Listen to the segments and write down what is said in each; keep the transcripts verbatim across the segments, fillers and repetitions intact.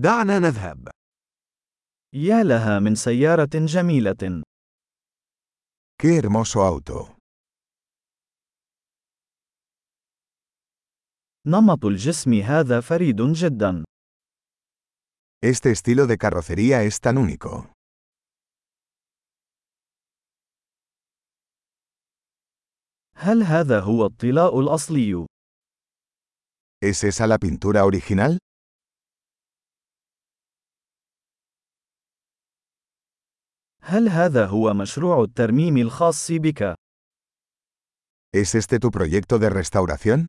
دعنا نذهب. يا لها من سيارة جميلة. ¡Qué hermoso auto! نمط الجسم هذا فريد جدا. Este estilo de carrocería es tan único. هل هذا هو الطلاء الأصلي؟ ¿Es esa la pintura original? هل هذا هو مشروع الترميم الخاص بك؟ ¿Es este tu proyecto de restauración?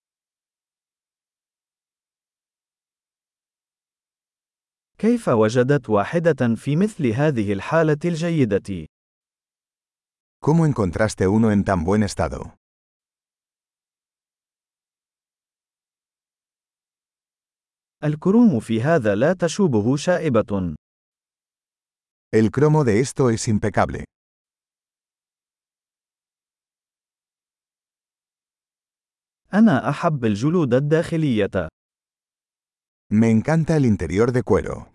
كيف وجدت واحدة في مثل هذه الحالة الجيدة؟ ¿Cómo encontraste uno en tan buen estado? الكروم في هذا لا تشوبه شائبة. El cromo de esto es impecable. أنا أحب الجلود الداخلية. Me encanta el interior de cuero.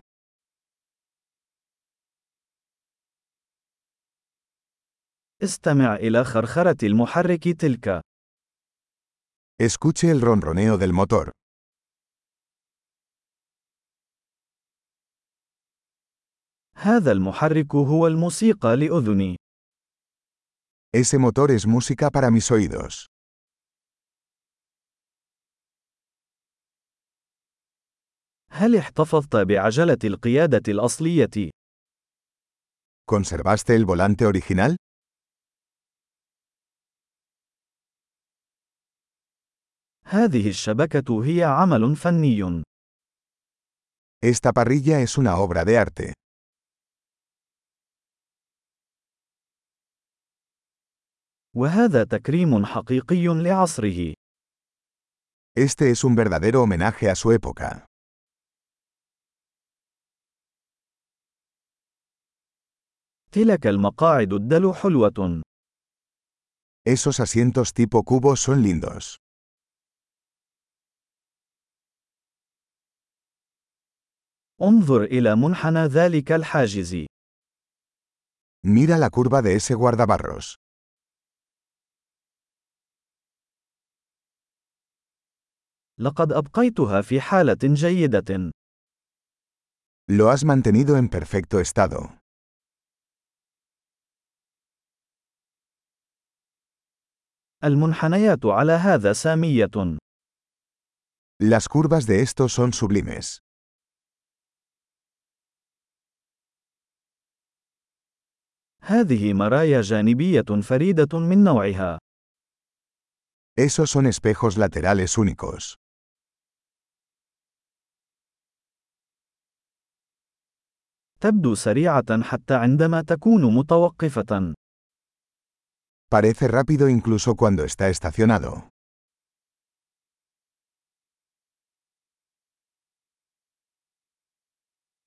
استمع إلى خرخرة المحرك تلك. Escuche el ronroneo del motor. هذا المحرك هو الموسيقى لأذني. Ese motor es música para mis oídos. هل احتفظت بعجلة القيادة الأصلية؟ ¿Conservaste el volante original? هذه الشبكة هي عمل فني. Esta parrilla es una obra de arte. وهذا تكريم حقيقي لعصره. Este es un verdadero homenaje a su época. تلك المقاعد الدلو حلوة. Esos asientos tipo cubo son lindos. انظر إلى منحنى ذلك الحاجز. Mira la curva de ese guardabarros. لقد أبقيتها في حالة جيدة. Lo has mantenido en perfecto estado. المنحنيات على هذا سامية. Las curvas de estos son sublimes. هذه مرايا جانبية فريدة من نوعها. Esos son espejos laterales únicos. تبدو سريعة حتى عندما تكون متوقفة. Parece rápido incluso cuando está estacionado.